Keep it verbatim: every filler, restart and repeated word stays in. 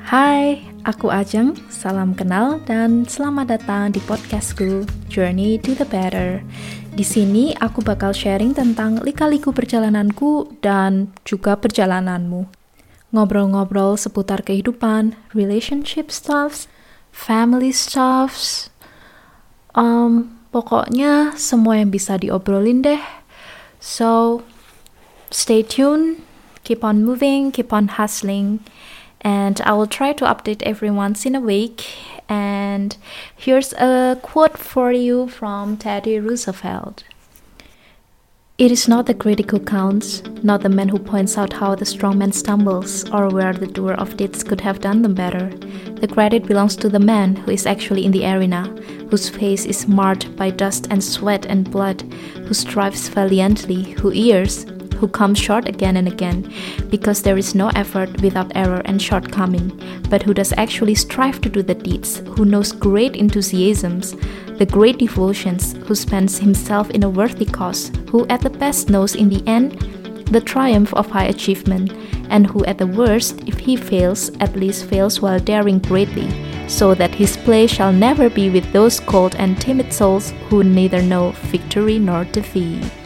Hai, aku Ajeng, salam kenal dan selamat datang di podcastku Journey to the Better. Di sini aku bakal sharing tentang lika-liku perjalananku dan juga perjalananmu. Ngobrol-ngobrol seputar kehidupan, relationship stuffs, family stuffs, um, pokoknya semua yang bisa diobrolin deh. So, stay tuned, keep on moving, keep on hustling. And I will try to update every once in a week. And here's a quote for you from Teddy Roosevelt. It is not the critic who counts, not the man who points out how the strong man stumbles, or where the doer of deeds could have done them better. The credit belongs to the man who is actually in the arena, whose face is marred by dust and sweat and blood, who strives valiantly, who errs, who comes short again and again, because there is no effort without error and shortcoming, but who does actually strive to do the deeds, who knows great enthusiasms, the great devotions, who spends himself in a worthy cause, who at the best knows in the end the triumph of high achievement, and who at the worst, if he fails, at least fails while daring greatly, so that his play shall never be with those cold and timid souls who neither know victory nor defeat.